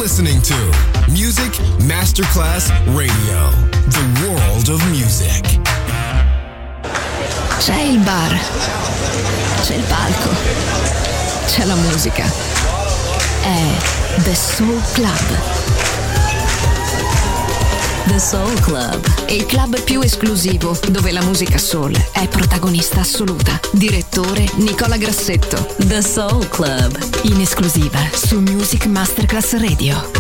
listening to Music Masterclass Radio, the world of music. C'è il bar, c'è il palco, c'è la musica. È The Soul Club. The Soul Club, il club più esclusivo dove la musica soul è protagonista assoluta. Direttore Nicola Grassetto. The Soul Club, in esclusiva su Music Masterclass Radio.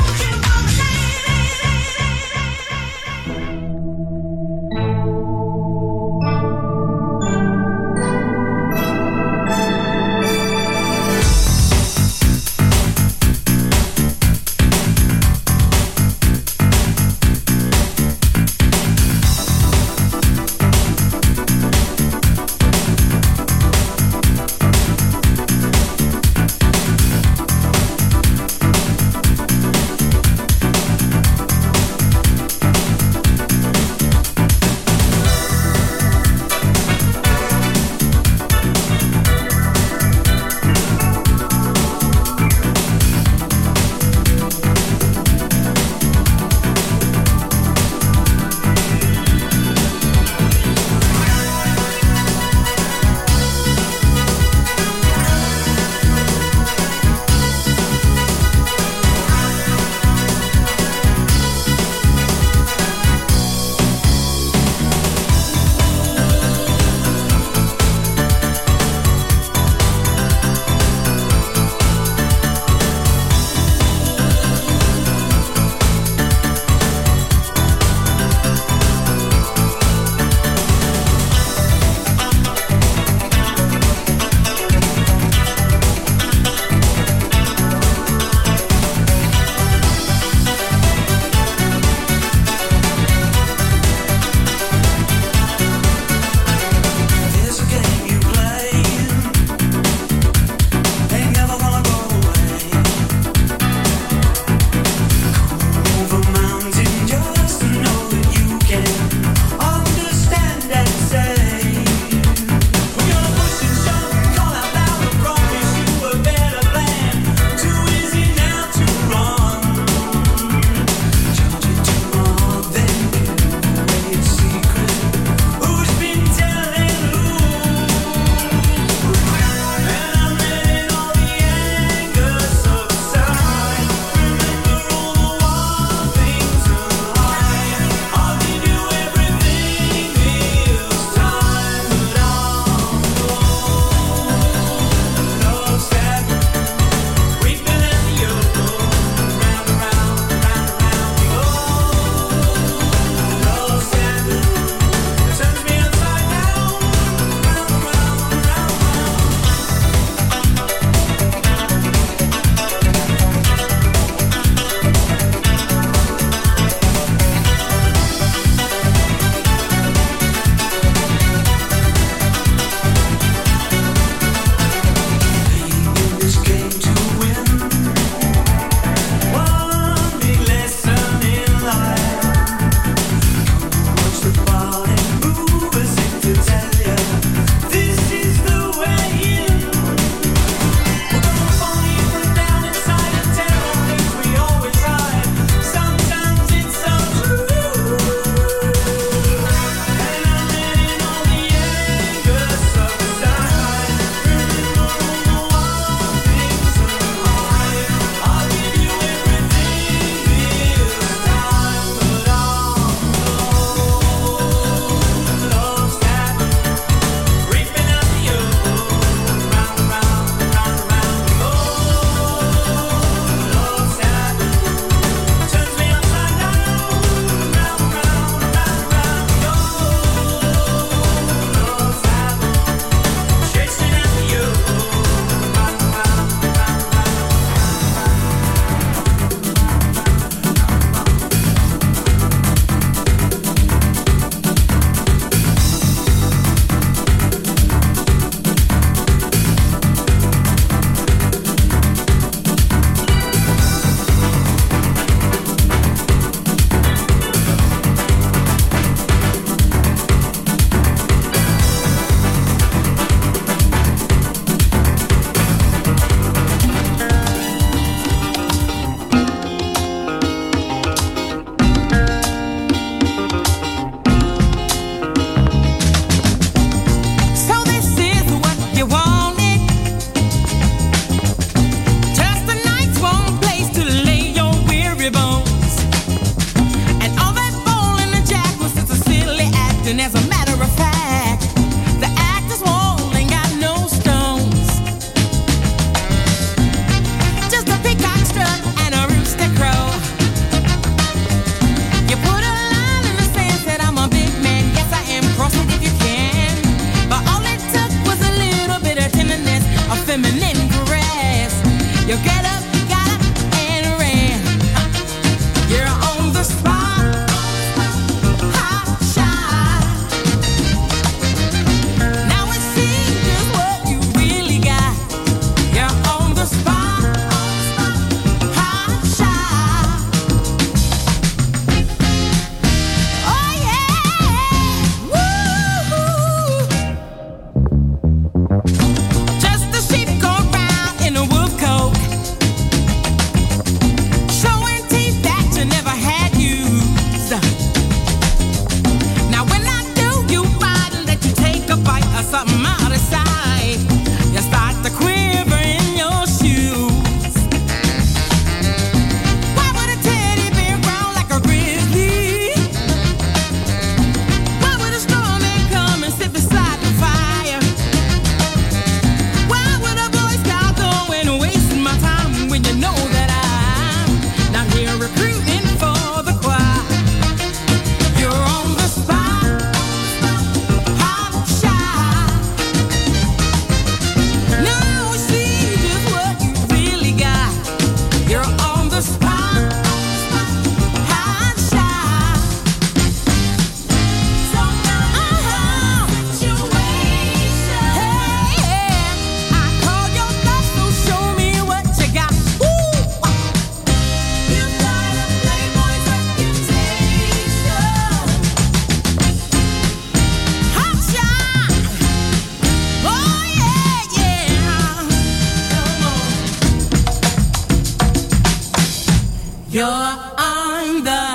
You're on the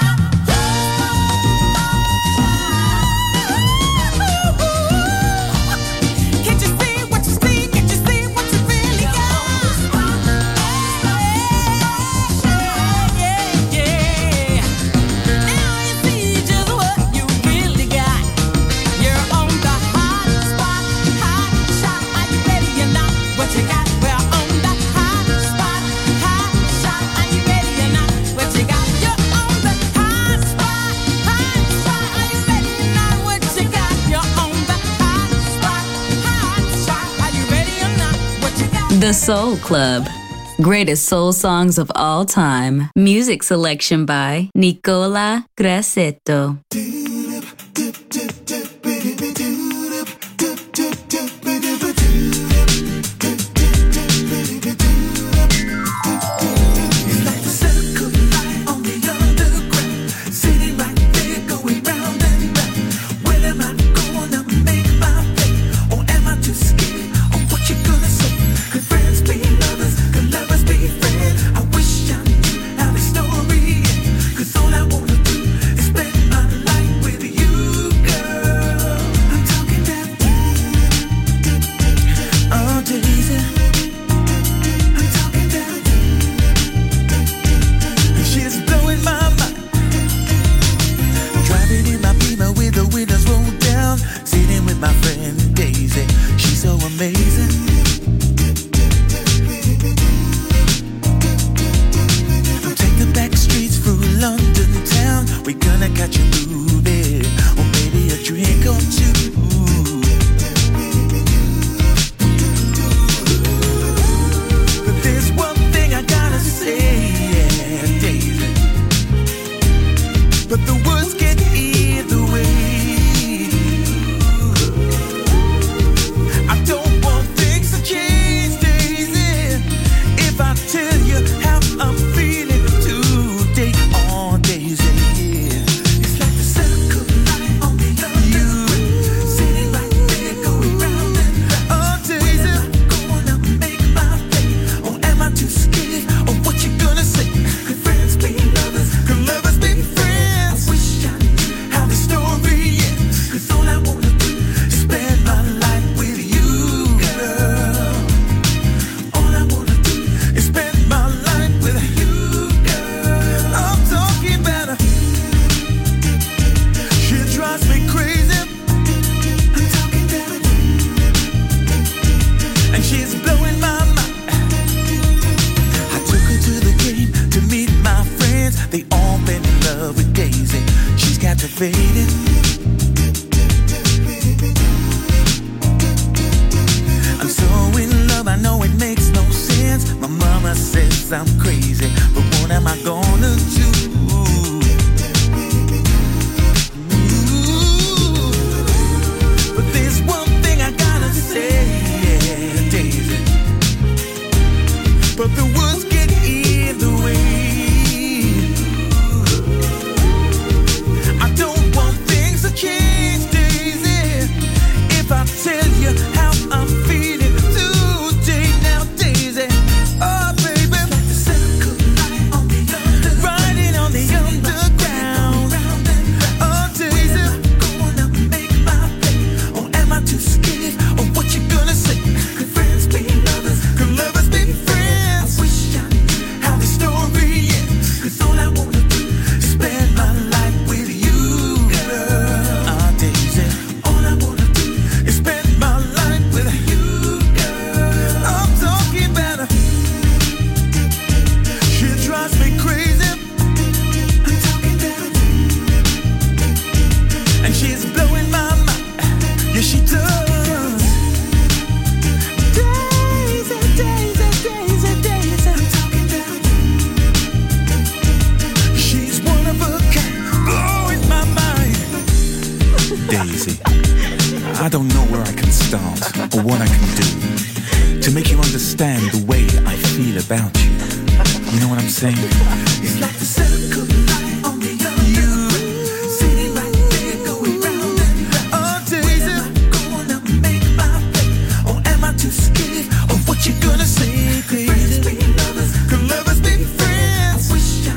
The Soul Club. Greatest soul songs of all time. Music selection by Nicola Grassetto. I don't know where I can start or what I can do to make you understand the way I feel about you. You know what I'm saying? It's like the circle light on the other sitting right there going round and round. Oh, days am I gonna make my play, or am I too scared of what you're gonna say? Could friends be lovers? Could lovers be friends? I wish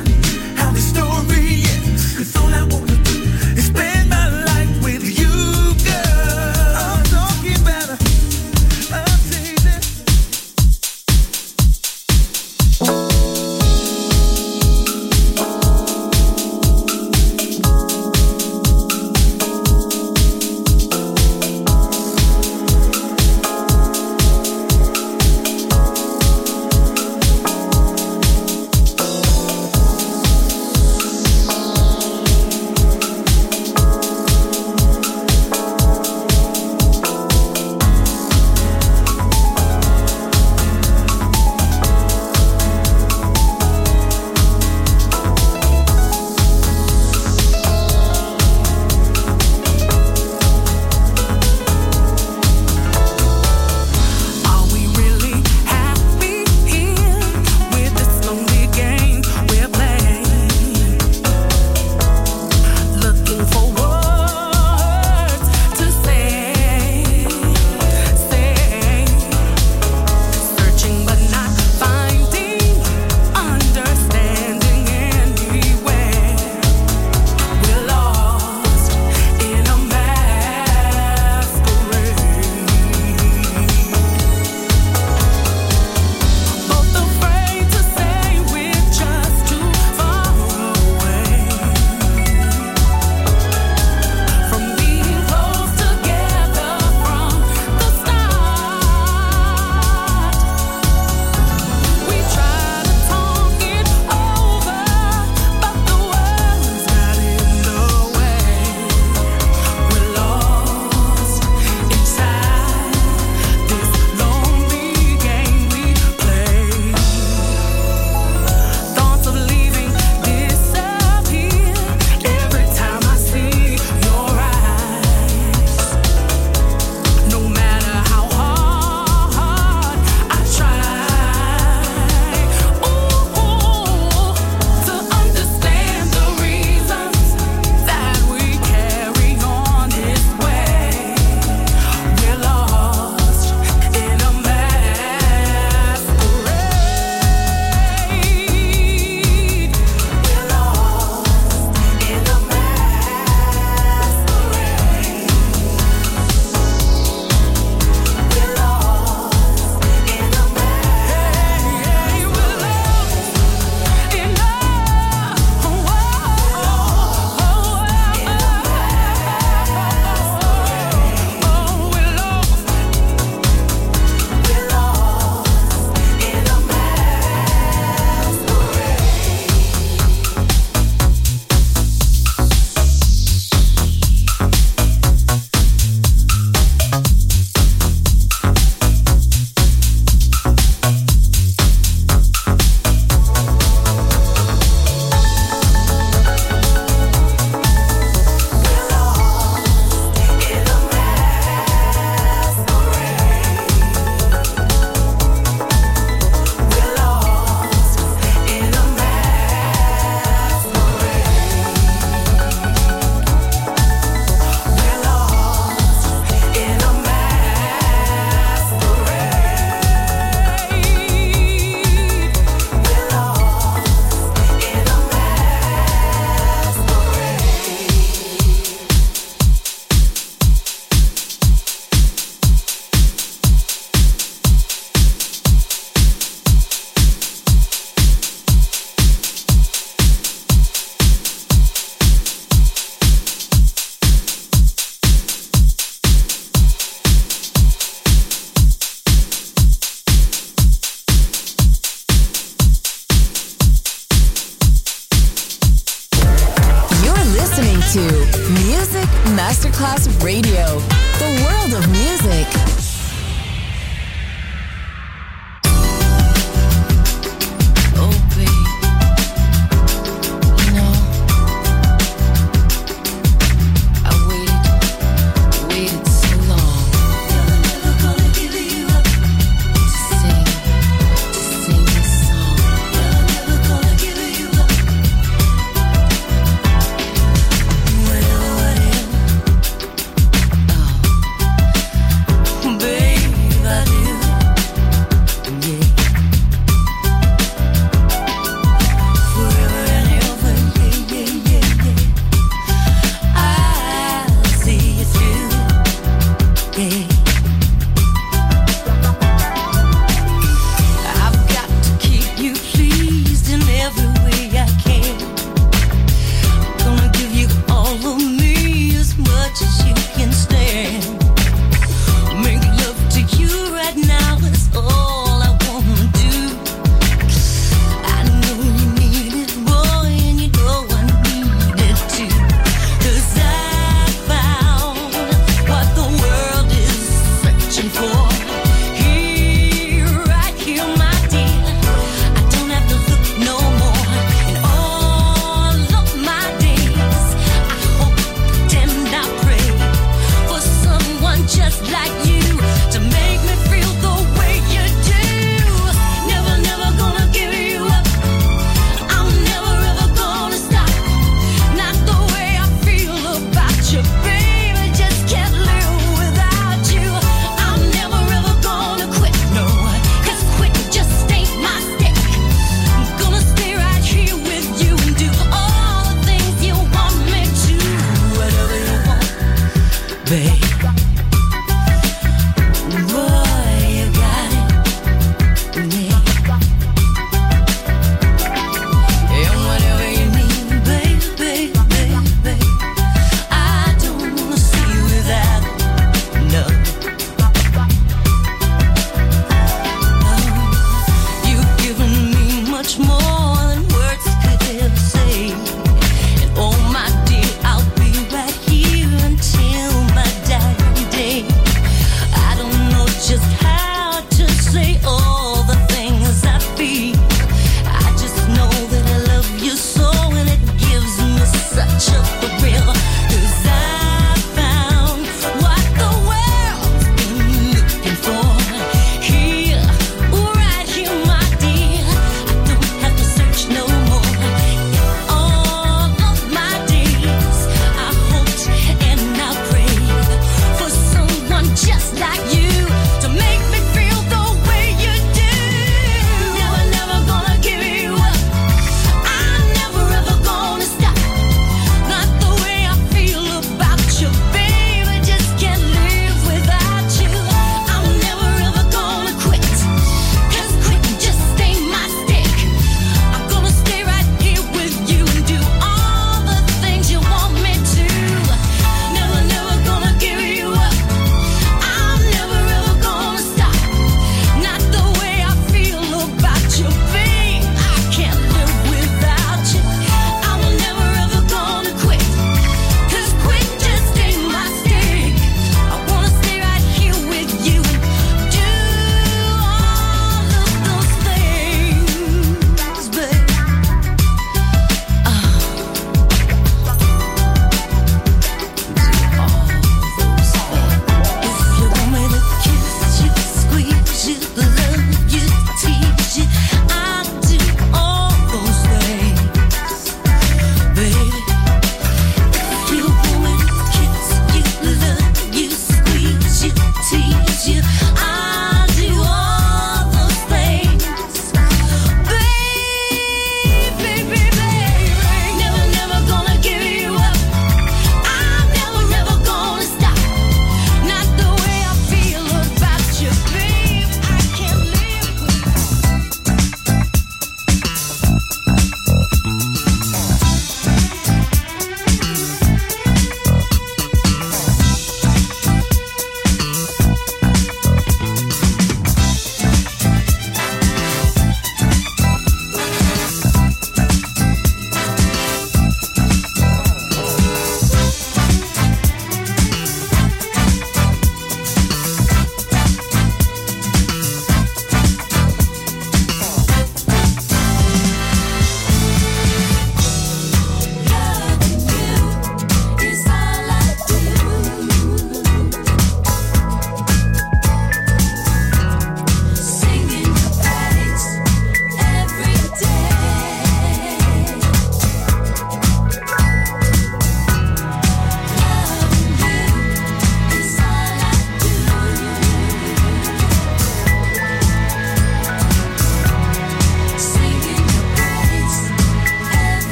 to Music Masterclass Radio, the world of music.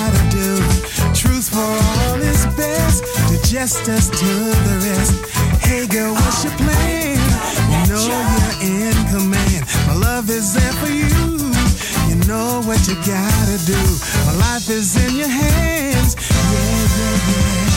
gotta do. Truth for all is best, digest us to the rest. Hey girl, what's your plan? You know you're in command. My love is there for you. You know what you gotta do. My life is in your hands. Yeah, yeah, yeah.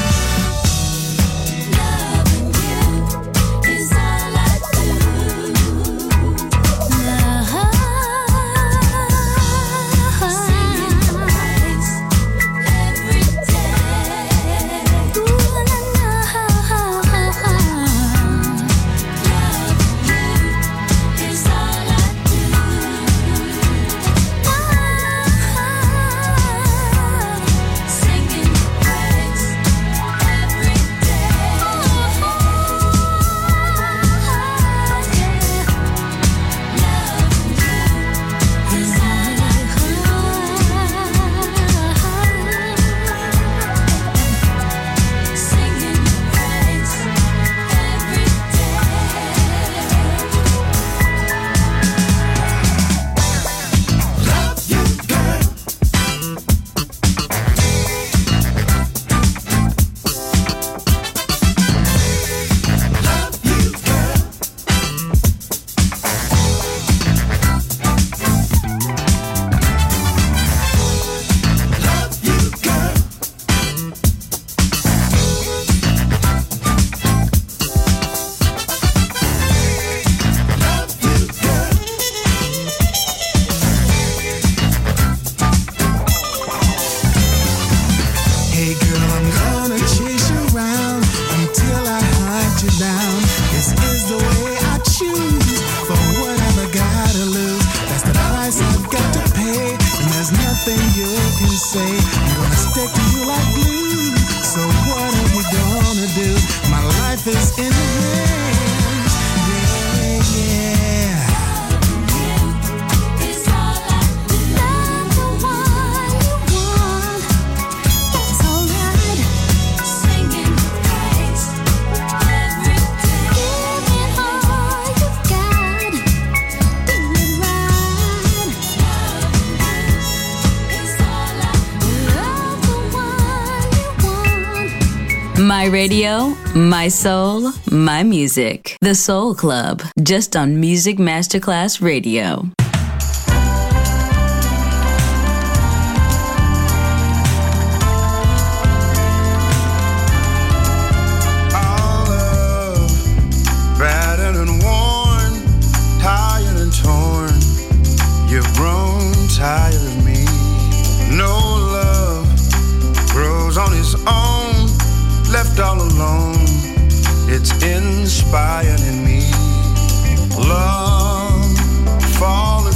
My radio, my soul, my music. The Soul Club, just on Music Masterclass Radio. All love, battered and worn, tired and torn. You've grown tired of me. No love grows on its own. Left all alone, it's inspired in me. Love, falling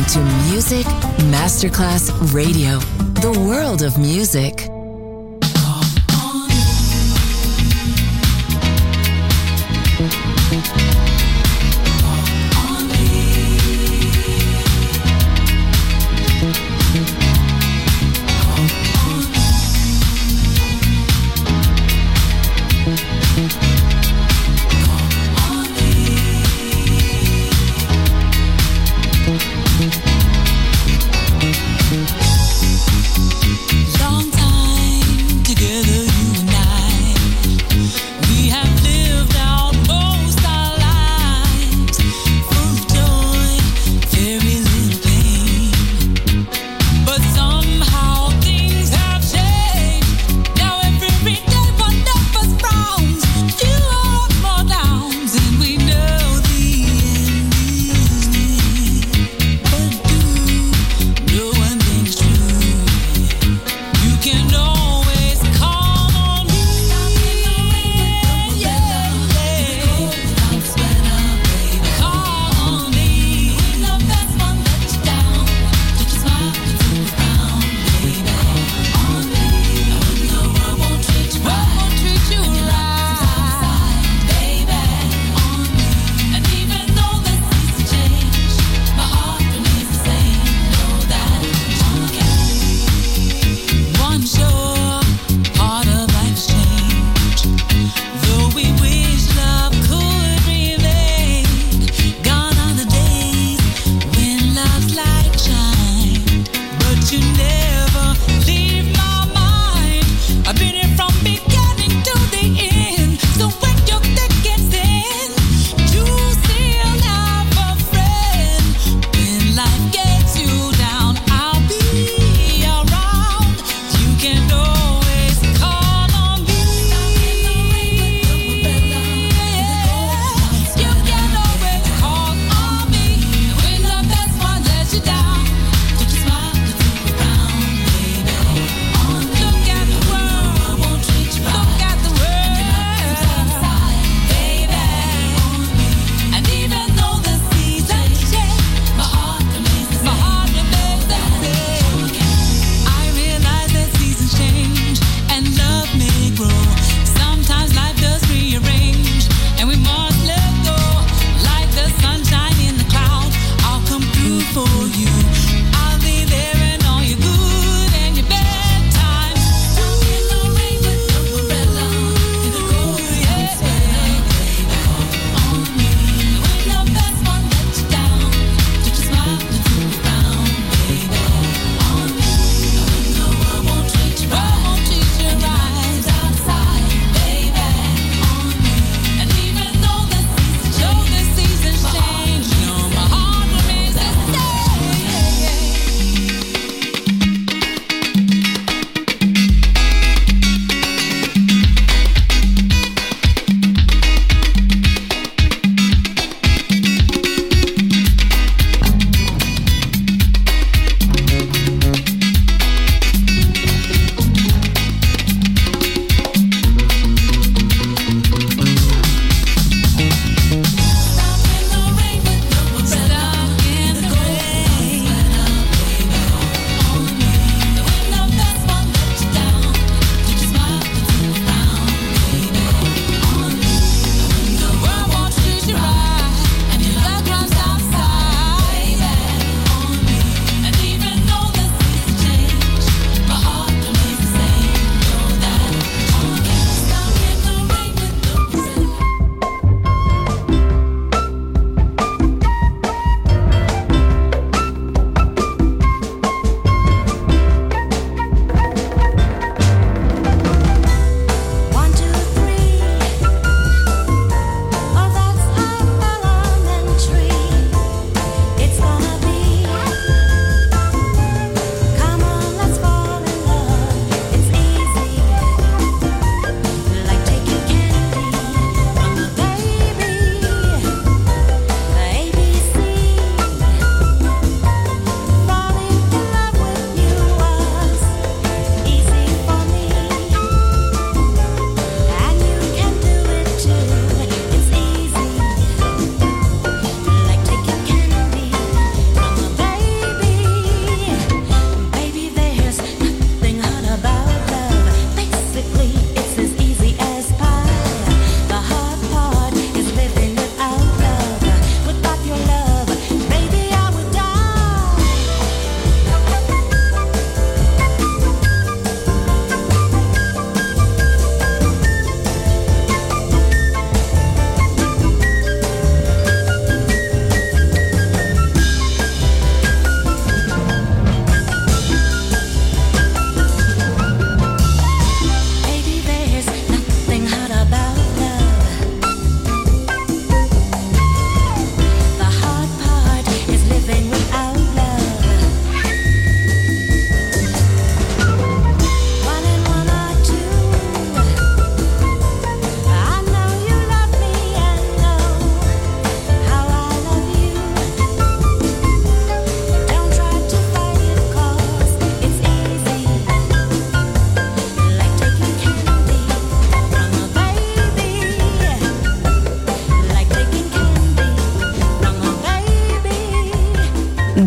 to Music Masterclass Radio, the world of music. Long time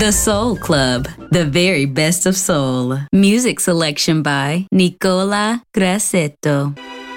The Soul Club, the very best of soul. Music selection by Nicola Grassetto.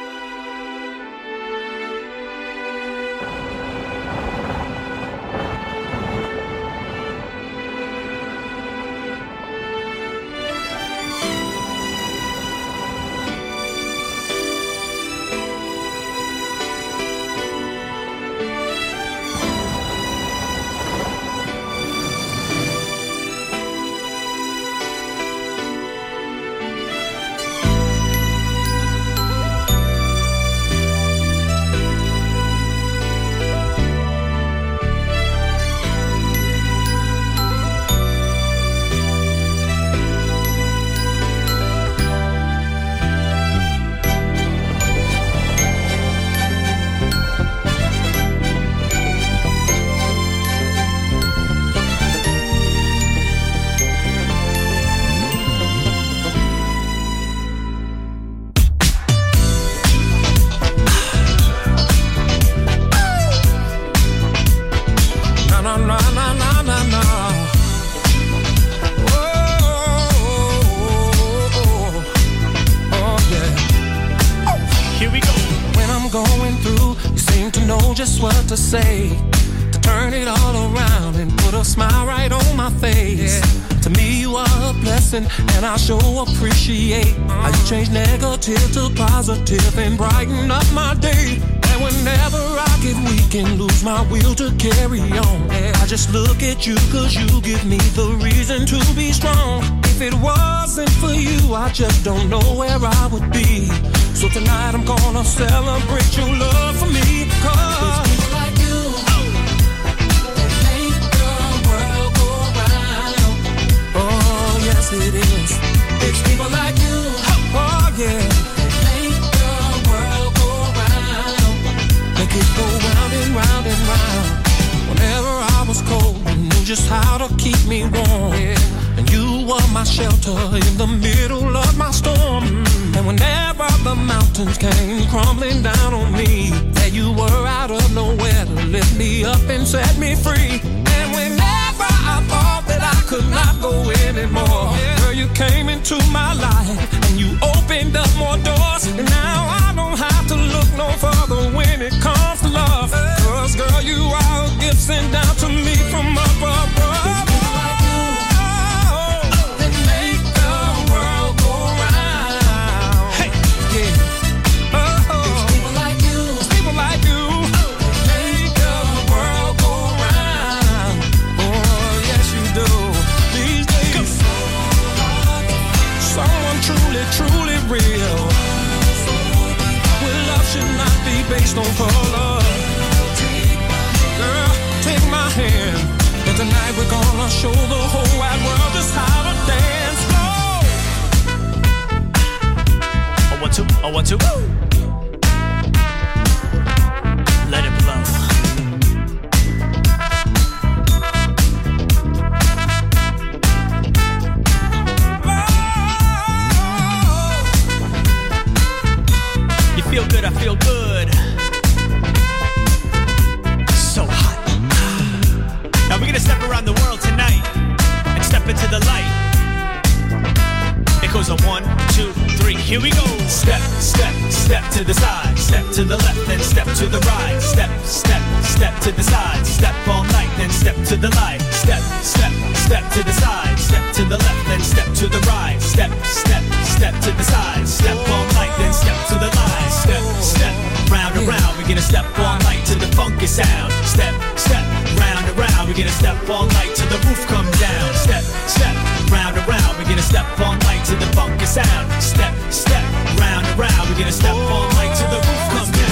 And I sure appreciate how you change negative to positive and brighten up my day. And whenever I get weak and lose my will to carry on, I just look at you cause you give me the reason to be strong. If it wasn't for you, I just don't know where I would be. So tonight I'm gonna celebrate your love for me. Cause people like you, they make the world go round. Oh yes it is. It's people like you, oh yeah, that make the world go round. Make it go round and round and round. Whenever I was cold, you knew just how to keep me warm, yeah. And you were my shelter in the middle of my storm. And whenever the mountains came crumbling down on me, there you were out of nowhere to lift me up and set me free. And whenever I thought that I could not go anymore, girl, you came into my life and you opened up more doors. And now I don't have to look no further when it comes to love. Cause girl, you are a gift sent down to me from up above. Truly real. Well, love should not be based on color. Girl, take my hand, and tonight we're gonna show the whole wide world just how to dance. Go. 1, 2, 1, 2. Let it blow. Feel good, I feel good. So hot. Now we're gonna step around the world tonight and step into the light. It goes on 1, 2, 3, here we go. Step, step, step to the side. Step to the left, then step to the right. Step, step, step to the side. Step all night, then step to the light. Step, step, step to the side. Step to the left, then step to the right. Step, step, step to the side. Step all night, then step to the light. Step, step, round and round. We're gonna step all night to the funky sound. Step, step, round and round. We're gonna step all night till the roof comes down. Step, step, round and round. We're gonna step all night to the funky sound. Step, step, round and round. We're gonna step all night till the roof comes down.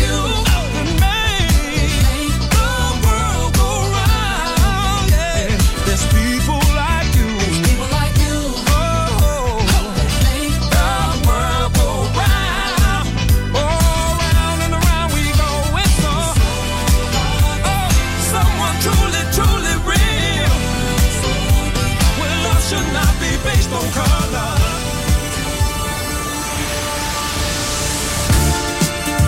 People like you, people like you, oh, that make the world go round. Oh, round and around we go. It's so, oh, someone truly, truly real. Well, love should not be based on color.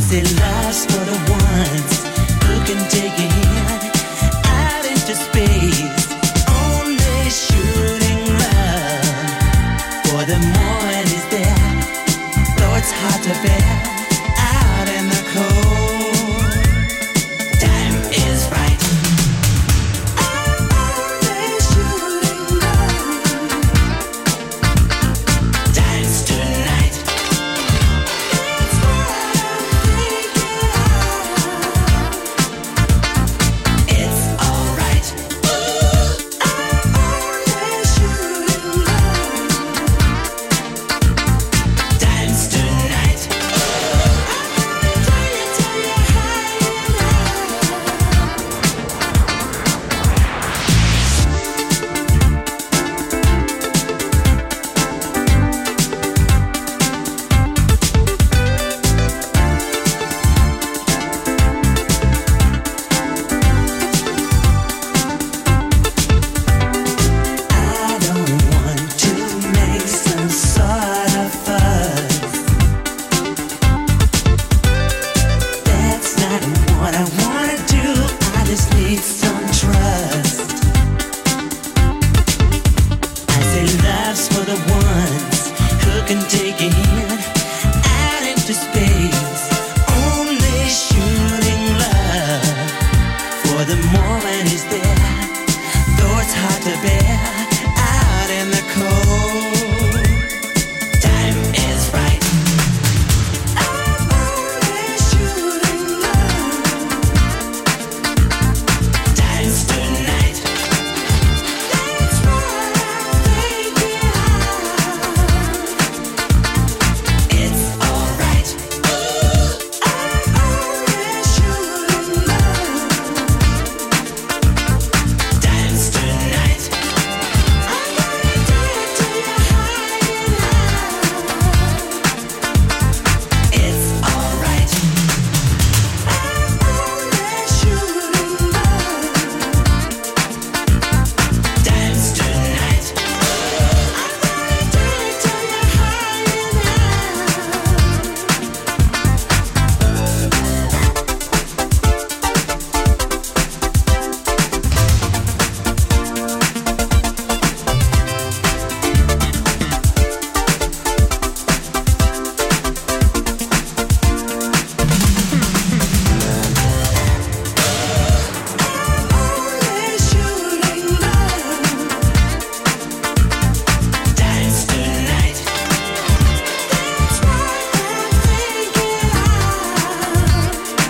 say love's for the ones who can take your hand out into space. Only shooting love for the moment is there, though it's hard to bear out in the cold. Time is right. I'm only shooting love. Time's tonight. It's what I'm thinking of. It's alright. I'm only shooting love. Time's tonight. I'm gonna tell you high and I don't want to make some sort of fuss. That's not what I wanna do. I just need some trust. I say love's for the ones who can take a hand out into space. Only shooting love for the moment is there, though it's hard to bear out in the cold. Time is right. I'm only shooting love. Time's tonight. That's what I'm thinking of. It's alright. I'm only shooting love. Time's tonight. I'm gonna do it till you're high and low. It's alright. I'm only shooting love. Time's tonight. I'm gonna do it till you're high and only shooting love. Time's tonight. That's what I'm thinking of.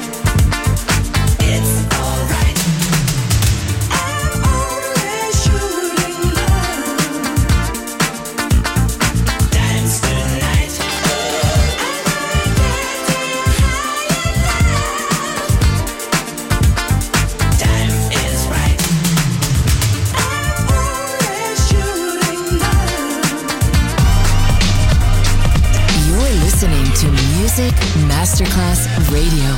It's alright. I'm only shooting love. Time's tonight. I'm gonna get to you high and low. Time is right. I'm only shooting love. You're listening to Music Masterclass Radio.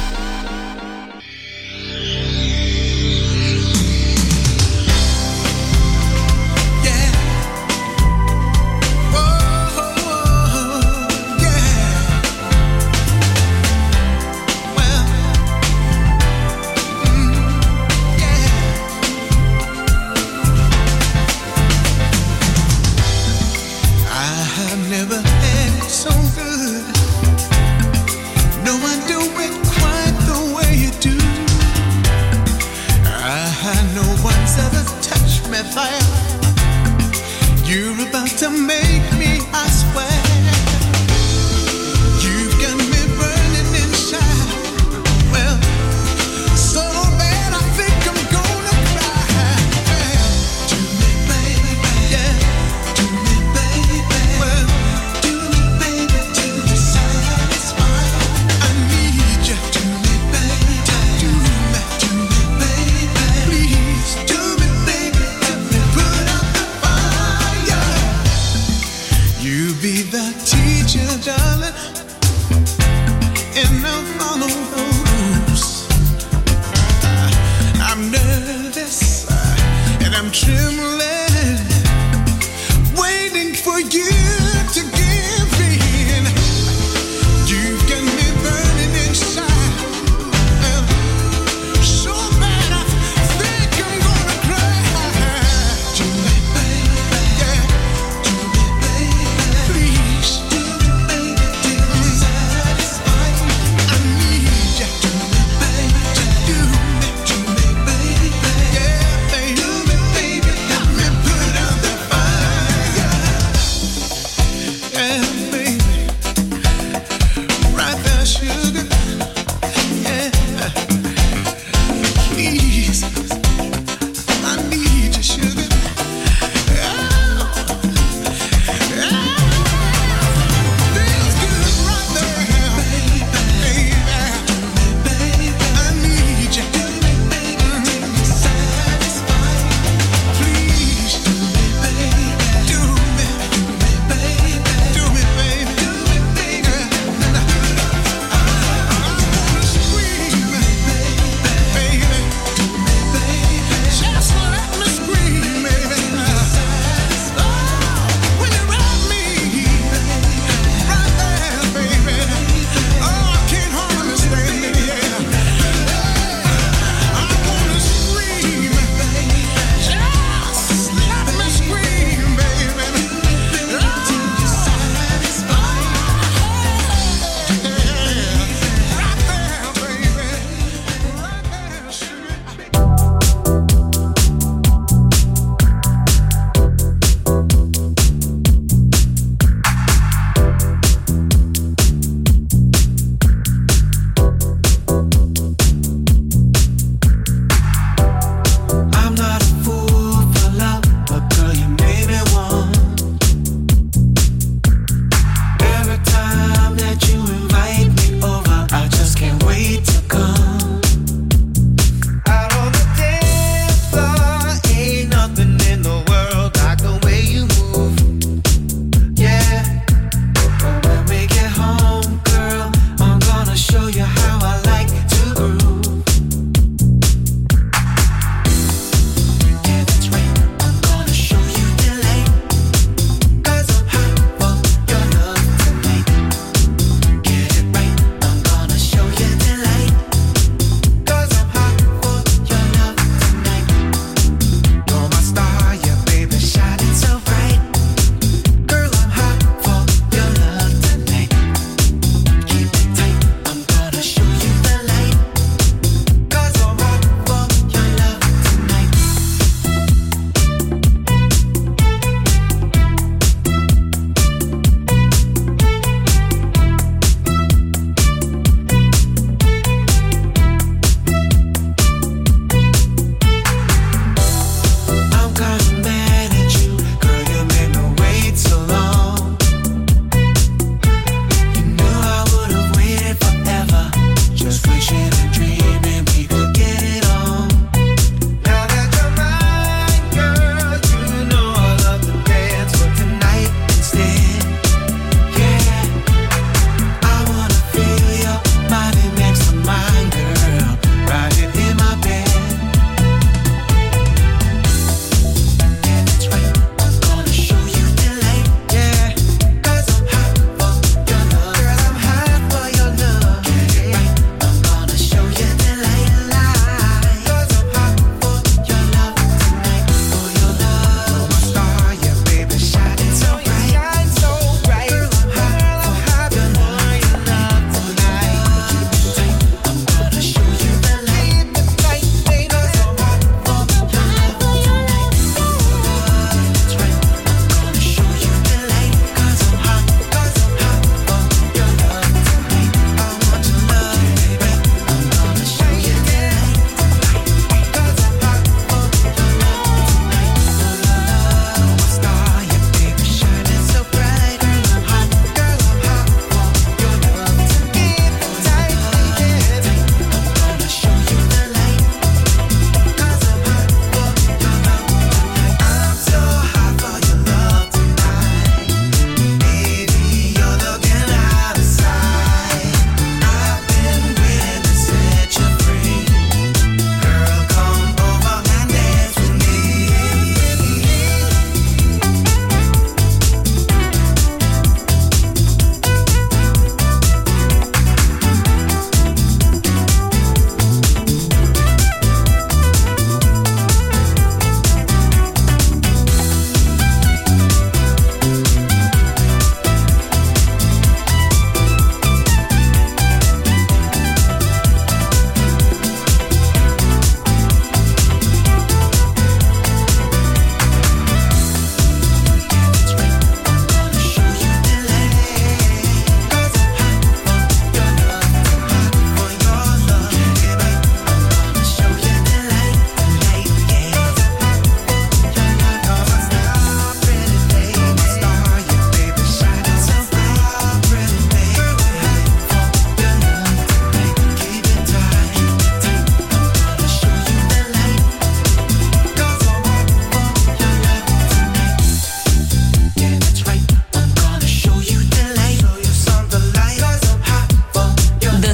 Yeah. Oh, yeah. Well, yeah. I have never had it so good. No, I do it quite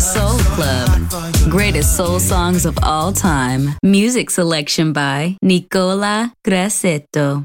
Soul Club. Greatest soul songs of all time. Music selection by Nicola Grassetto.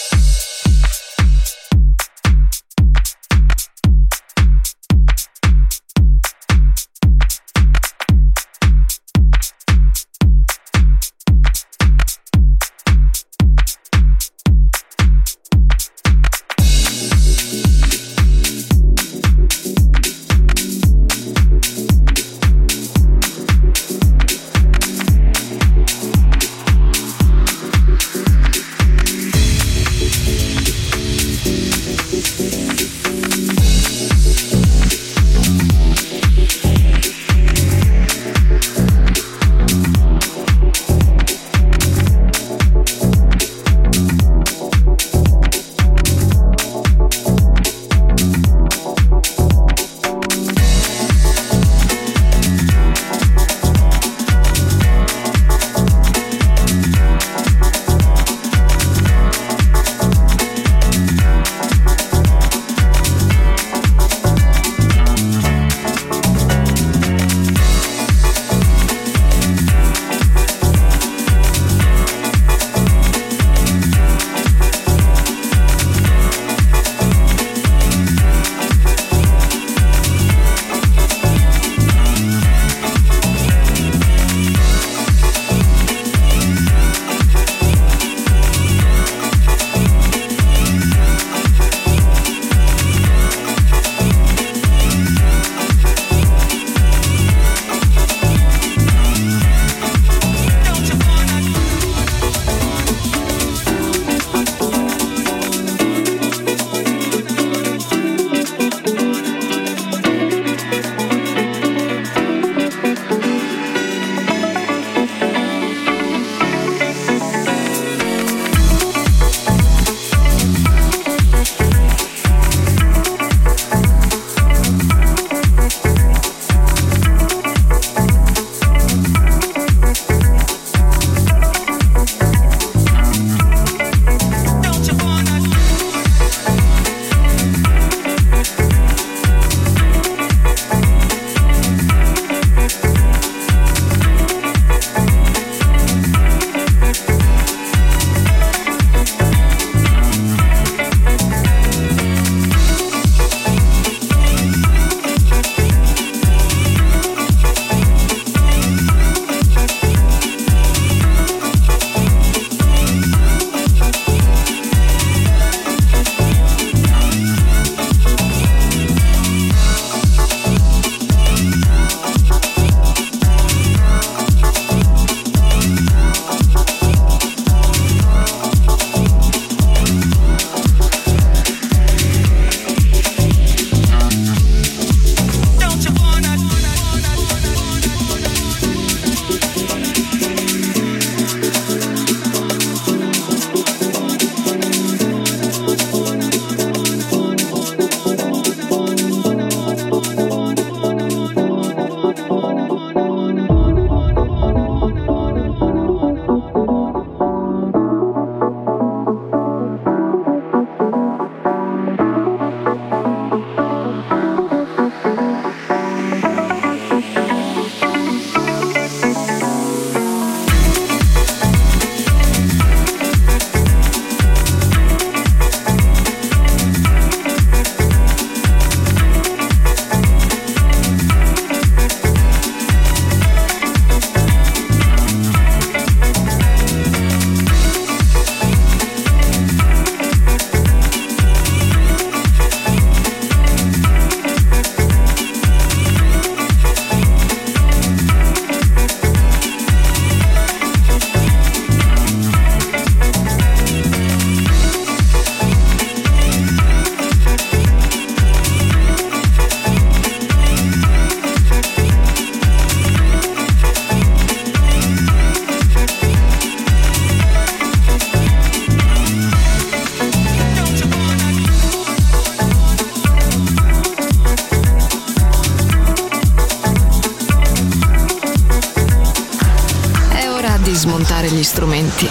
smontare gli strumenti,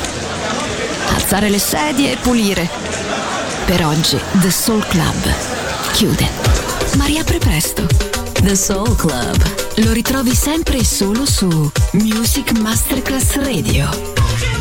alzare le sedie e pulire. Per oggi The Soul Club chiude, ma riapre presto. The Soul Club. Lo ritrovi sempre e solo su Music Masterclass Radio.